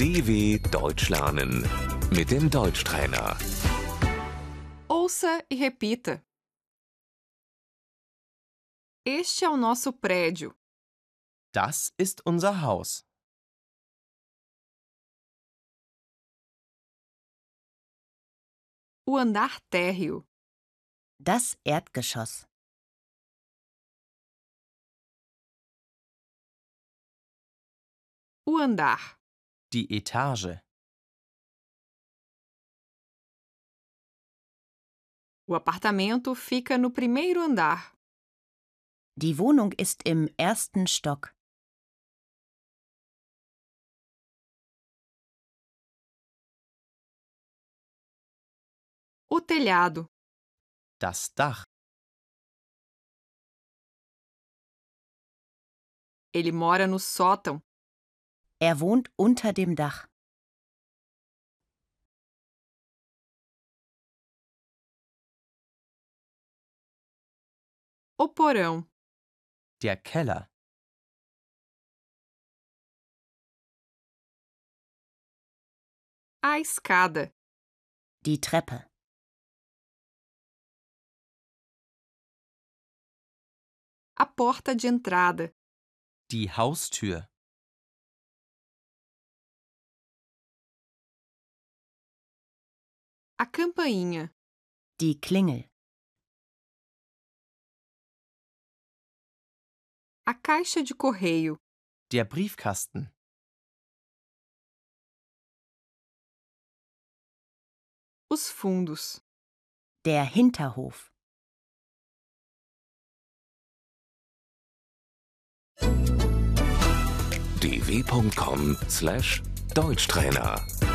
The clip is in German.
DW Deutsch lernen mit dem Deutschtrainer. Ouça e repita. Este é o nosso prédio. Das ist unser Haus. O andar térreo. Das Erdgeschoss. O andar. Die Etage. O apartamento fica no primeiro andar. Die Wohnung ist im ersten Stock. O telhado. Das Dach. Ele mora no sótão. Er wohnt unter dem Dach. O porão. Der Keller. A escada. Die Treppe. A porta de entrada. Die Haustür. A campainha. Die Klingel. A caixa de correio. Der Briefkasten. Os fundos. Der Hinterhof. dw.com/Deutschtrainer